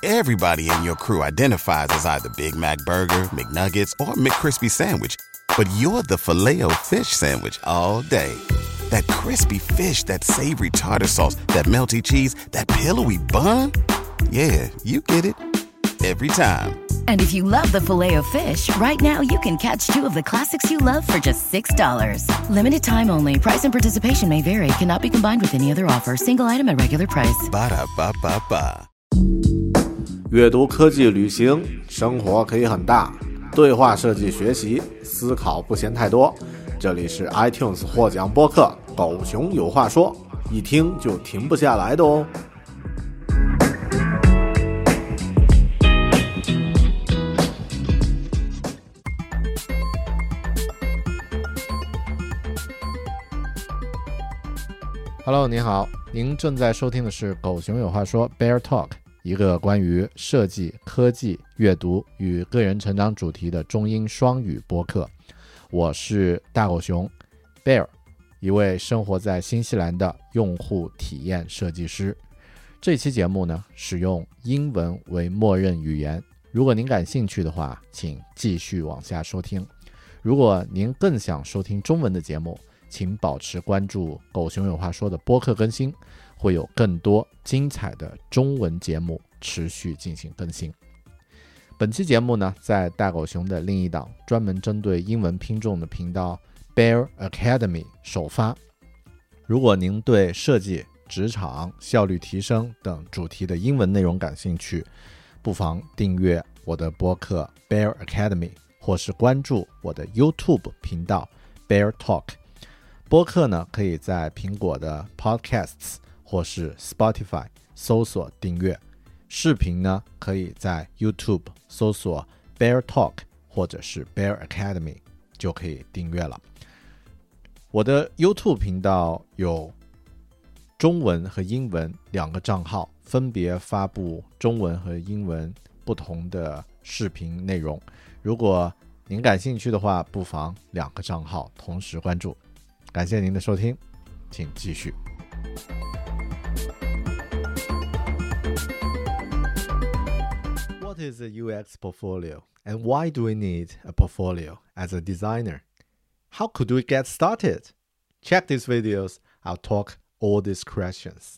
Everybody in your crew identifies as either Big Mac Burger, McNuggets, or McCrispy Sandwich. But you're the Filet-O-Fish Sandwich all day. That crispy fish, that savory tartar sauce, that melty cheese, that pillowy bun. Yeah, you get it. Every time. And if you love the Filet-O-Fish, right now you can catch two of the classics you love for just $6. Limited time only. Price and participation may vary. Cannot be combined with any other offer. Single item at regular price. Ba-da-ba-ba-ba. 阅读、科技、旅行，生活可以很大。对话设计学习，思考不嫌太多。这里是 iTunes 获奖播客《狗熊有话说》，一听就停不下来的哦。Hello， 你好，您正在收听的是《狗熊有话说》Bear Talk， 一个关于设计、科技、阅读与个人成长主题的中英双语播客。我是大狗熊 Bear， 一位生活在新西兰的用户体验设计师。这期节目呢，使用英文为默认语言。如果您感兴趣的话，请继续往下收听。如果您更想收听中文的节目，请保持关注狗熊有话说的播客更新，会有更多精彩的中文节目持续进行更新。本期节目呢，在大狗熊的另一档专门针对英文拼众的频道 Bear Academy 首发。如果您对设计、职场、效率提升等主题的英文内容感兴趣，不妨订阅我的播客 Bear Academy， 或是关注我的 YouTube 频道 Bear Talk。播客呢，可以在苹果的 Podcasts 或是 Spotify 搜索订阅。视频呢，可以在 YouTube 搜索 Bear Talk 或者是 Bear Academy 就可以订阅了。我的 YouTube 频道有中文和英文两个账号，分别发布中文和英文不同的视频内容。如果您感兴趣的话，不妨两个账号同时关注。感谢您的收听，请继续。What is a UX portfolio, and why do we need a portfolio as a designer? How could we get started? Check these videos. I'll talk all these questions.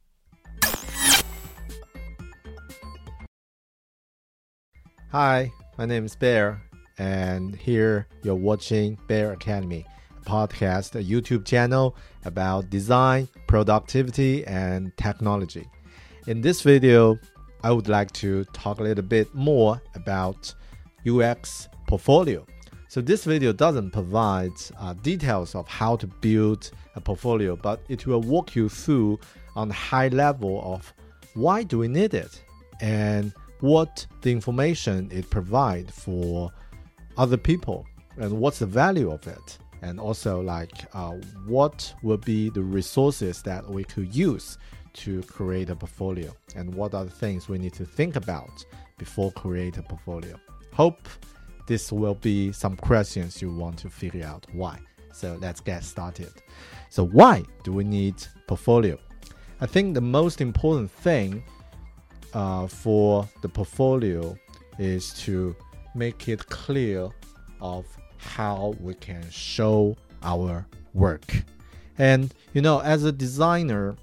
Hi, my name is Bear, and here you're watching Bear Academy.Podcast, a YouTube channel about design, productivity, and technology. In this video, I would like to talk a little bit more about UX portfolio. So this video doesn't provide details of how to build a portfolio, but it will walk you through on the high level of why do we need it and what the information it provides for other people and what's the value of it.And also what will be the resources that we could use to create a portfolio, and what are the things we need to think about before create a portfolio. Hope this will be some questions you want to figure out why. So let's get started. So why do we need portfolio? I think the most important thing for the portfolio is to make it clear of how we can show our work. And as a designer,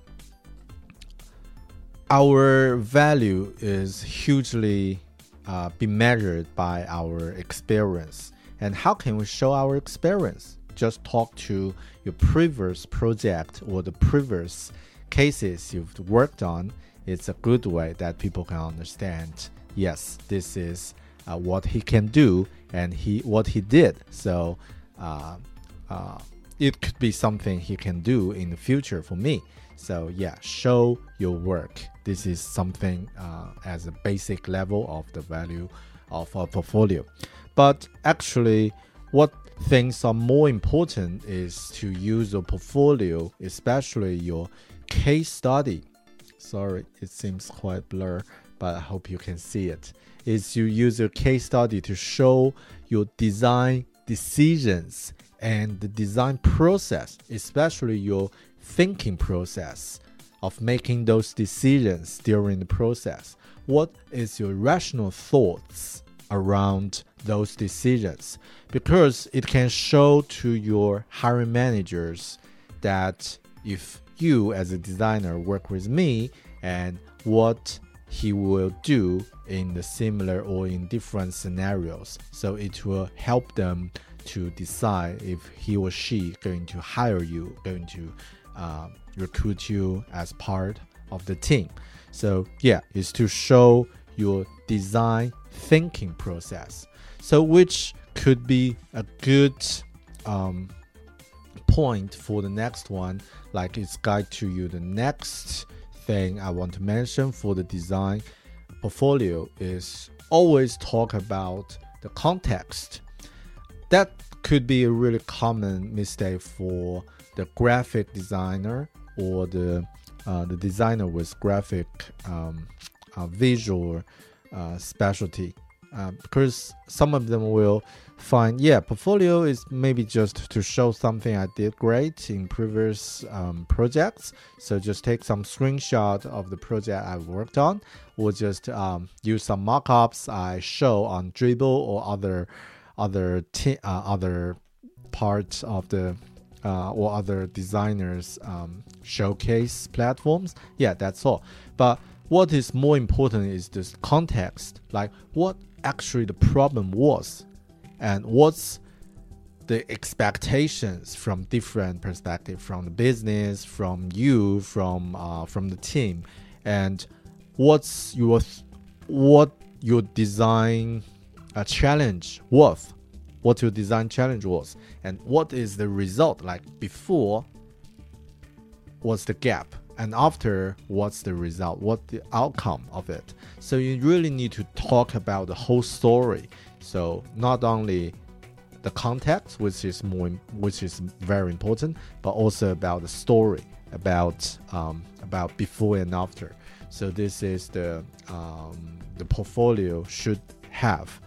our value is hugely be measured by our experience. And how can we show our experience? Just talk to your previous project or the previous cases you've worked on. It's a good way that people can understand, yes, this is what he can do and what he did. So it could be something he can do in the future for me. So yeah, show your work. This is something as a basic level of the value of a portfolio. But actually, what things are more important is to use your portfolio, especially your case study. Sorry, it seems quite blur, but I hope you can see it. Is you use your case study to show your design decisions and the design process, especially your thinking process of making those decisions during the process? What is your rational thoughts around those decisions? Because it can show to your hiring managers that if you as a designer work with me, and what he will do in the similar or in different scenarios. So it will help them to decide if he or she going to hire you, going to recruit you as part of the team. So yeah, it's to show your design thinking process. So which could be a good point for the next one, like it's guide to you. The next thing I want to mention for the design portfolio is always talk about the context. That could be a really common mistake for the graphic designer or the designer with graphic visual specialty, because some of them will find, portfolio is maybe just to show something I did great in previous projects. So just take some screenshot of the project I worked on, or just use some mockups I show on Dribbble or other parts of the or other designers showcase platforms. Yeah, that's all. But what is more important is this context, like what actually the problem was, and what's the expectations from different perspectives, from the business, from you, from the team, and what your design challenge was, what your design challenge was, and what is the result. Like before, what's the gap, and after, what's the result, what the outcome of it. So you really need to talk about the whole story. So not only the context, which is very important, but also about the story, about before and after. So this is the portfolio should have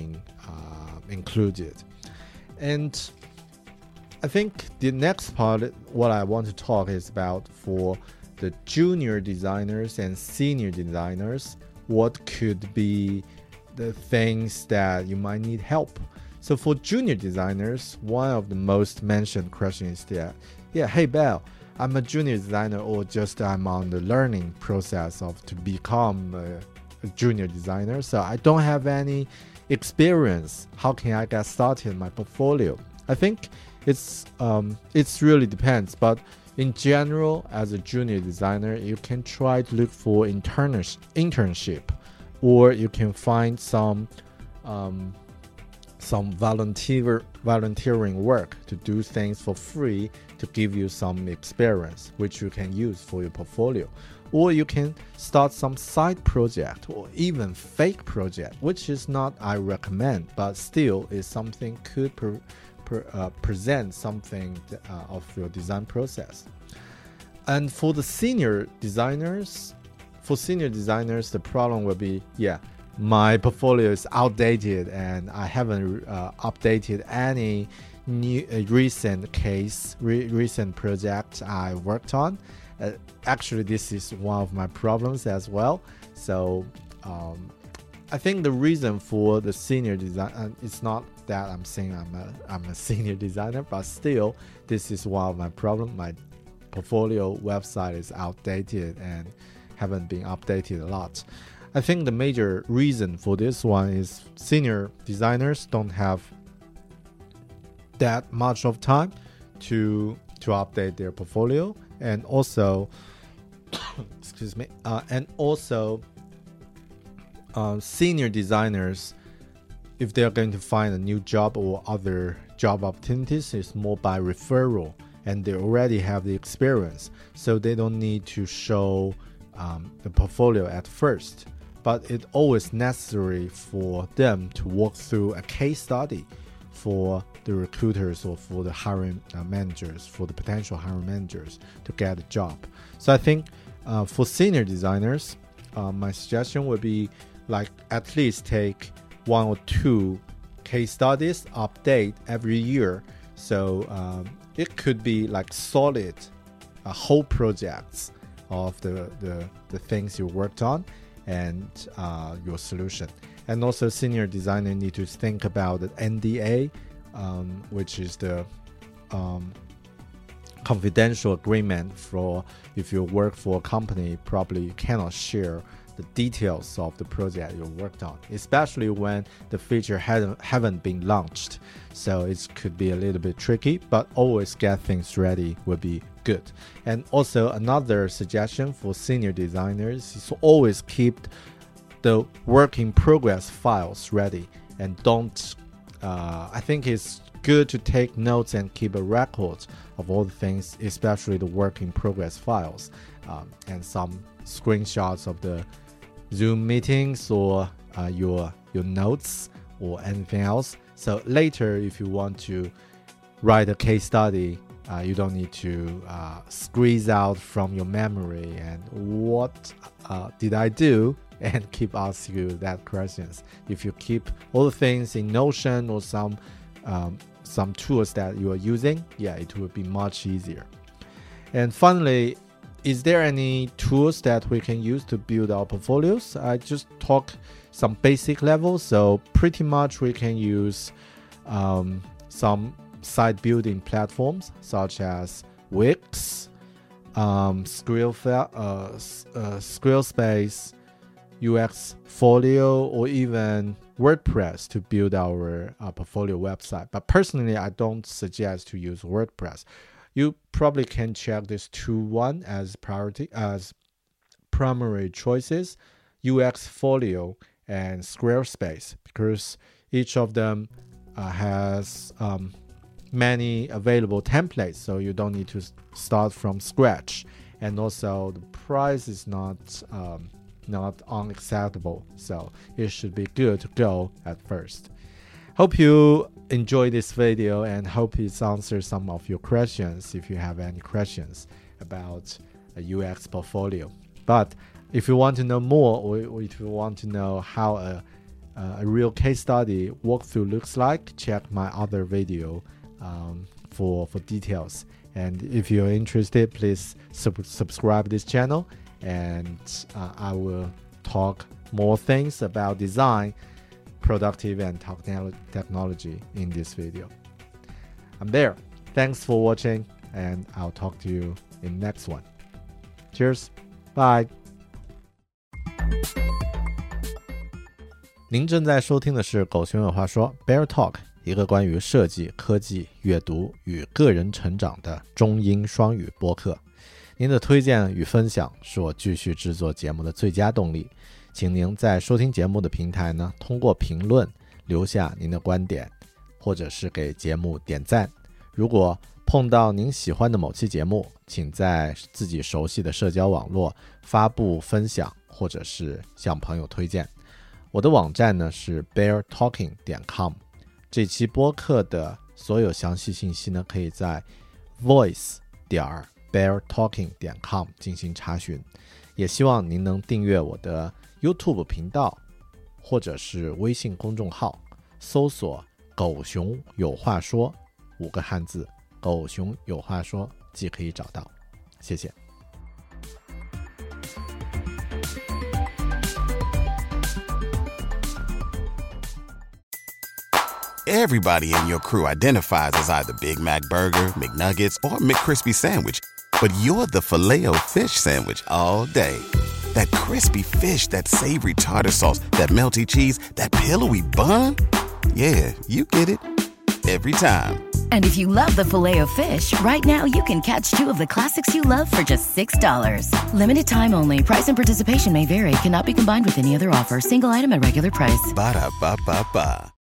included. And I think the next part, what I want to talk is about for the junior designers and senior designers, what could be the things that you might need help. So for junior designers, one of the most mentioned questions is that, hey Belle, I'm a junior designer, or just I'm on the learning process of to become a junior designer, so I don't have any experience. How can I get started in my portfolio? I think it's really depends, but in general, as a junior designer, you can try to look for internship, or you can find some volunteering work to do things for free to give you some experience, which you can use for your portfolio. Or you can start some side project or even fake project, which is not I recommend, but still is something could present something of your design process. And for the senior designers, the problem will be, my portfolio is outdated and I haven't updated any new recent project I worked on. Actually, this is one of my problems as well. So I think the reason for the senior design, it's not that I'm saying I'm a senior designer, but still this is one of my problems. My portfolio website is outdated and haven't been updated a lot. I think the major reason for this one is senior designers don't have that much of time to update their portfolio, and also senior designers, if they're going to find a new job or other job opportunities, is more by referral, and they already have the experience, so they don't need to show the portfolio at first. But it's always necessary for them to walk through a case study for the recruiters or for the hiring managers, for the potential hiring managers to get a job. So I think for senior designers, my suggestion would be like at least take 1 or 2 case studies, update every year. So it could be like solid whole projects of the things you worked on and your solution. And also senior designer need to think about the NDA, which is the confidential agreement for if you work for a company, probably you cannot share the details of the project you worked on, especially when the feature haven't been launched. So it could be a little bit tricky, but always get things ready would be good. And also another suggestion for senior designers is to always keep the work in progress files ready, and don't I think it's good to take notes and keep a record of all the things, especially the work in progress files, and some screenshots of the Zoom meetings or your notes or anything else. So later, if you want to write a case study, you don't need to squeeze out from your memory and what did I do, and keep asking you that questions. If you keep all the things in Notion or some tools that you are using, it will be much easier. And finally, is there any tools that we can use to build our portfolios? I just talk some basic levels. So pretty much we can use some site building platforms such as Wix, Squarespace, UXfolio, or even WordPress to build our portfolio website. But personally, I don't suggest to use WordPress. You probably can check this 2-1 as primary choices, UXfolio and Squarespace, because each of them has many available templates, so you don't need to start from scratch. And also the price is not unacceptable, so it should be good to go at first. Hope you enjoy this video and hope it answers some of your questions if you have any questions about a UX portfolio. But if you want to know more, or if you want to know how a real case study walkthrough looks like, check my other video for details. And if you're interested, please subscribe this channel, and I will talk more things about design, productive and technology in this video. I'm there. Thanks for watching, and I'll talk to you in next one. Cheers. Bye. 您正在收听的是狗熊有话说 Bear Talk， 一个关于设计、科技、阅读与个人成长的中英双语播客。您的推荐与分享是我继续制作节目的最佳动力，请您在收听节目的平台呢，通过评论留下您的观点，或者是给节目点赞。如果碰到您喜欢的某期节目，请在自己熟悉的社交网络发布分享，或者是向朋友推荐。我的网站呢是 beartalking.com， 这期播客的所有详细信息呢可以在 voice.beartalking.com 进行查询。也希望您能订阅我的 YouTube 频道或者是微信公众号，搜索狗熊有话说5个汉字，狗熊有话说即可以找到。谢谢。 Everybody in your crew identifies as either Big Mac Burger, McNuggets, or McCrispy Sandwich. But you're the Filet-O-Fish Sandwich all day. That crispy fish, that savory tartar sauce, that melty cheese, that pillowy bun. Yeah, you get it. Every time. And if you love the Filet-O-Fish, right now you can catch 2 of the classics you love for just $6. Limited time only. Price and participation may vary. Cannot be combined with any other offer. Single item at regular price. Ba-da-ba-ba-ba.